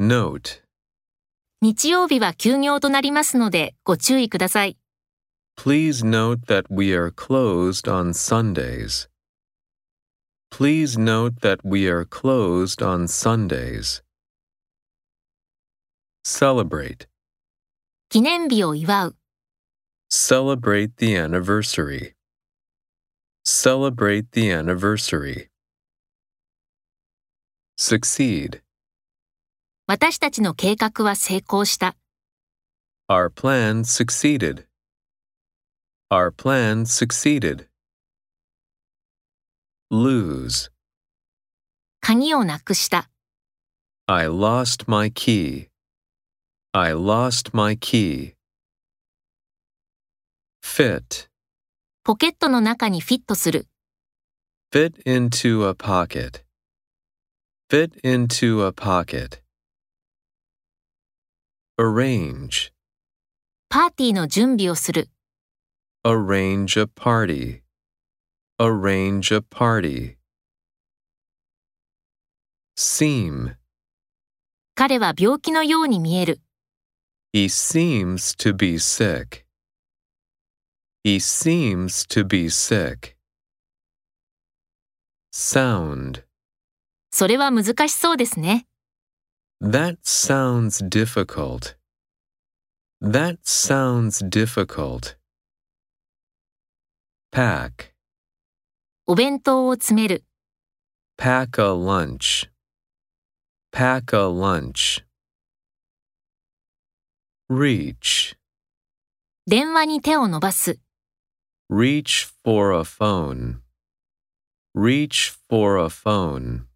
Note. 日曜日は休業となりますのでご注意ください。 Please note that we are closed on Sundays. Please note that we are closed on Sundays. Celebrate. 記念日を祝う。 Celebrate the anniversary. Celebrate the anniversary. Succeed. 私たちの計画は成功した。 Our plan succeeded. Our plan succeeded. Lose. 鍵をなくした。 I lost my key. I lost my key. Fit. ポケットの中にフィットする。 Fit into a pocket. Fit into a pocket. Arrange. パーティーの準備をする。 Arrange a party. Arrange a party. Seem. 彼は病気のように見える。 He seems to be sick. He seems to be sick. Sound. それは難しそうですね。 That sounds difficult. That sounds difficult. Pack. お弁当を詰める。 Pack a lunch. Pack a lunch. Reach. 電話に手を伸ばす。 Reach for a phone. Reach for a phone.